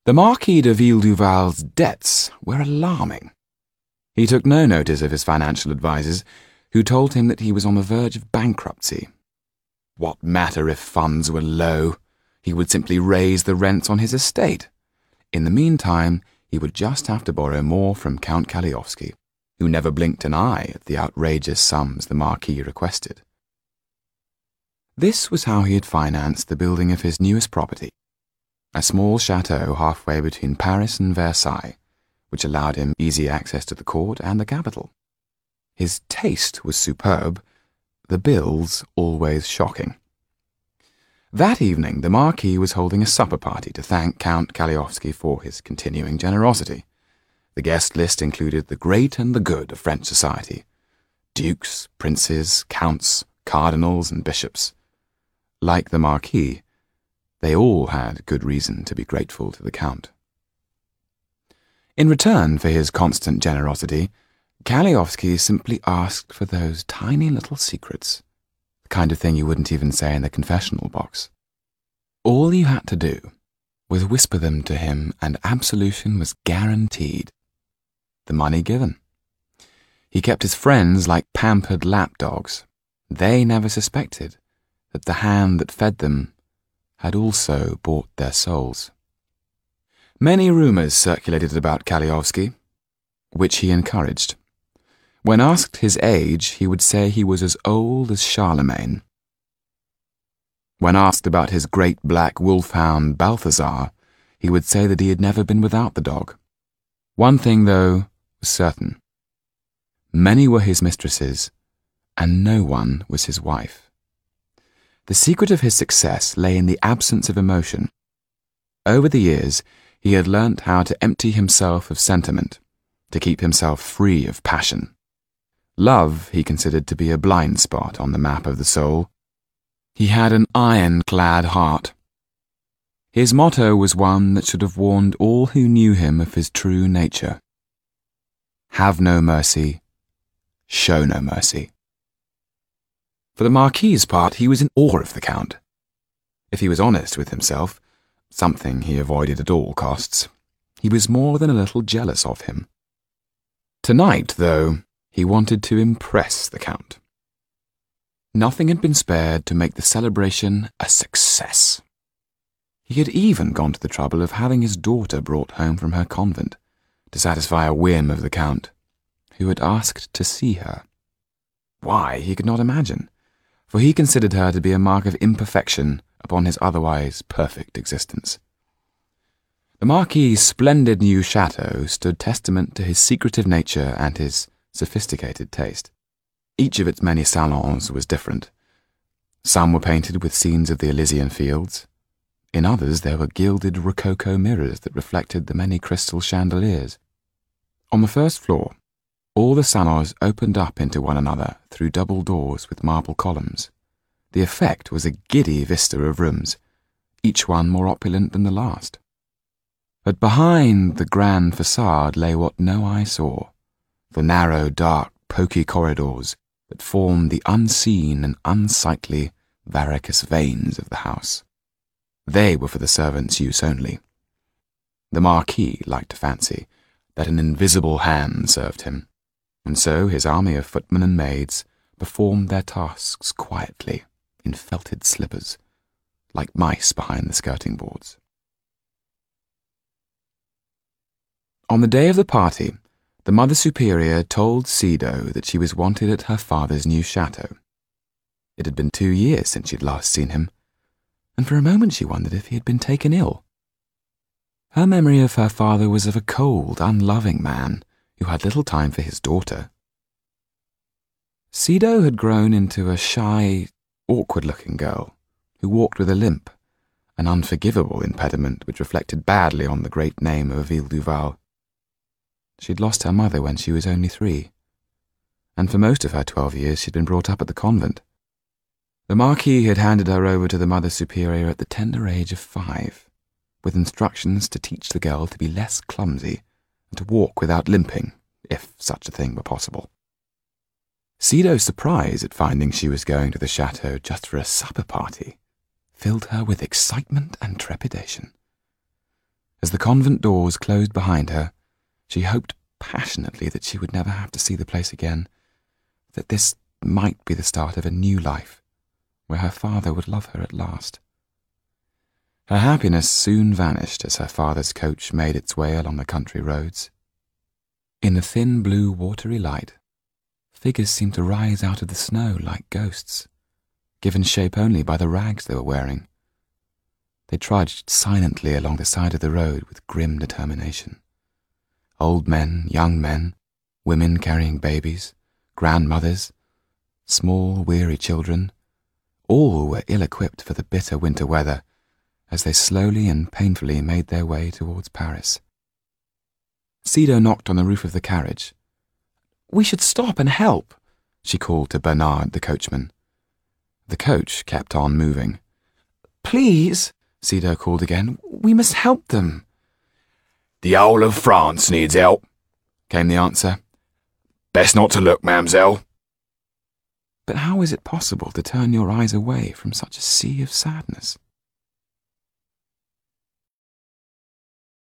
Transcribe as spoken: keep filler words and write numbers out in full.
The Marquis de Villeduval's debts were alarming. He took no notice of his financial advisers, who told him that he was on the verge of bankruptcy. What matter if funds were low? He would simply raise the rents on his estate. In the meantime, he would just have to borrow more from Count Kaliowski, who never blinked an eye at the outrageous sums the Marquis requested. This was how he had financed the building of his newest property, a small chateau halfway between Paris and Versailles, which allowed him easy access to the court and the capital. His taste was superb, the bills always shocking. That evening the Marquis was holding a supper party to thank Count Kaliowski for his continuing generosity. The guest list included the great and the good of French society: dukes, princes, counts, cardinals, and bishops. Like the Marquis, they all had good reason to be grateful to the Count. In return for his constant generosity, Kaliowski simply asked for those tiny little secrets, the kind of thing you wouldn't even say in the confessional box. All you had to do was whisper them to him, and absolution was guaranteed. The money given. He kept his friends like pampered lapdogs. They never suspected that the hand that fed them had also bought their souls. Many rumours circulated about Kaliowski, which he encouraged. When asked his age, he would say he was as old as Charlemagne. When asked about his great black wolfhound Balthazar, he would say that he had never been without the dog. One thing, though, was certain. Many were his mistresses, and no one was his wife. The secret of his success lay in the absence of emotion. Over the years, he had learnt how to empty himself of sentiment, to keep himself free of passion. Love he considered to be a blind spot on the map of the soul. He had an iron-clad heart. His motto was one that should have warned all who knew him of his true nature. Have no mercy, show no mercy. For the Marquis's part, he was in awe of the Count. If he was honest with himself, something he avoided at all costs, he was more than a little jealous of him. Tonight, though, he wanted to impress the Count. Nothing had been spared to make the celebration a success. He had even gone to the trouble of having his daughter brought home from her convent, to satisfy a whim of the Count, who had asked to see her. Why, he could not imagine, for he considered her to be a mark of imperfection upon his otherwise perfect existence. The Marquis's splendid new chateau stood testament to his secretive nature and his sophisticated taste. Each of its many salons was different. Some were painted with scenes of the Elysian fields. In others there were gilded rococo mirrors that reflected the many crystal chandeliers. On the first floor, all the salons opened up into one another through double doors with marble columns. The effect was a giddy vista of rooms, each one more opulent than the last. But behind the grand facade lay what no eye saw, the narrow, dark, poky corridors that formed the unseen and unsightly varicose veins of the house. They were for the servants' use only. The Marquis liked to fancy that an invisible hand served him, and so his army of footmen and maids performed their tasks quietly in felted slippers, like mice behind the skirting boards. On the day of the party, the Mother Superior told Sido that she was wanted at her father's new chateau. It had been two years since she'd last seen him, and for a moment she wondered if he had been taken ill. Her memory of her father was of a cold, unloving man who had little time for his daughter. Sido had grown into a shy, awkward-looking girl who walked with a limp, an unforgivable impediment which reflected badly on the great name of Villeduval. She'd lost her mother when she was only three, and for most of her twelve years she'd been brought up at the convent. The Marquis had handed her over to the Mother Superior at the tender age of five, with instructions to teach the girl to be less clumsy and to walk without limping, if such a thing were possible. Sido's surprise at finding she was going to the chateau just for a supper party filled her with excitement and trepidation. As the convent doors closed behind her, she hoped passionately that she would never have to see the place again, that this might be the start of a new life, where her father would love her at last. Her happiness soon vanished as her father's coach made its way along the country roads. In the thin blue watery light, figures seemed to rise out of the snow like ghosts, given shape only by the rags they were wearing. They trudged silently along the side of the road with grim determination. Old men, young men, women carrying babies, grandmothers, small, weary children, all were ill-equipped for the bitter winter weather as they slowly and painfully made their way towards Paris. Cedar knocked on the roof of the carriage. "We should stop and help," she called to Bernard, the coachman. The coach kept on moving. "Please," Cedar called again, "we must help them." "The whole of France needs help," came the answer. "Best not to look, ma'amselle." But how is it possible to turn your eyes away from such a sea of sadness?